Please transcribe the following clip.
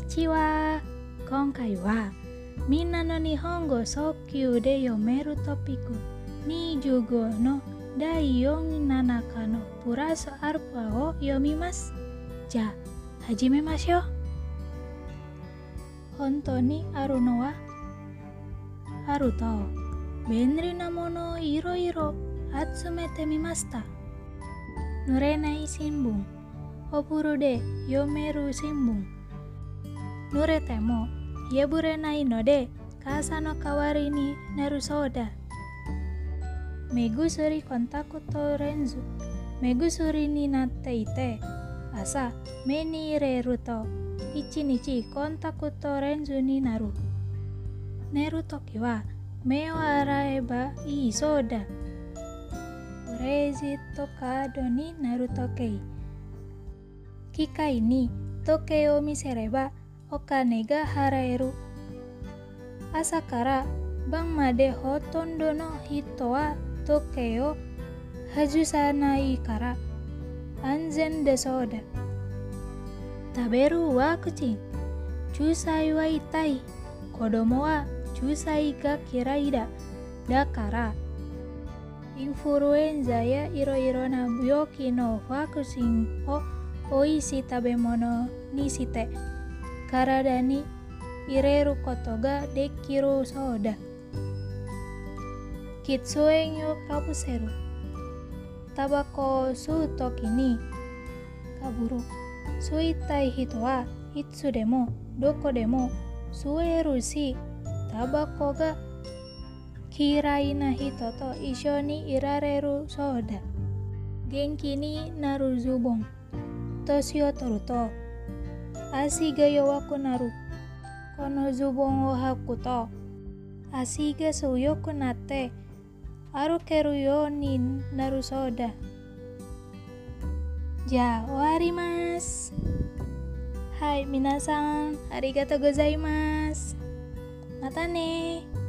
ちは。今回はみんなの日本語速級で読めるトピック25の第47課のプラスアルファを読みます。じゃあ始めましょう。本当にあるのはあると便利なものをいろいろ集めてみました。濡れない新聞、お風呂で読める新聞。濡れても破れないので傘の代わりになるそうだ。目薬コンタクトレンズ、目薬になっていて朝目に入れると1日コンタクトレンズになる。寝るときは目を洗えばいいそうだ。クレジットカードになる時計。機械に時計を見せればお金が払える。朝から晩までほとんどの人は時計を外さないから安全だそうだ。食べるワクチン。注射は痛い。子供は注射が嫌いだ。だからインフルエンザやいろいろな病気のワクチンをおいしい食べ物にして体に入れることができるそうだ。喫煙をかぶせる。タバコを吸うときにかぶる。吸いたい人はいつでもどこでも吸えるし、タバコが嫌いな人と一緒にいられるそうだ。元気になるズボン。年を取ると足が弱くなる。このズボンを履くと足が強くなって歩けるようになるそうだ。じゃあ終わります。はい、皆さんありがとうございます。またね。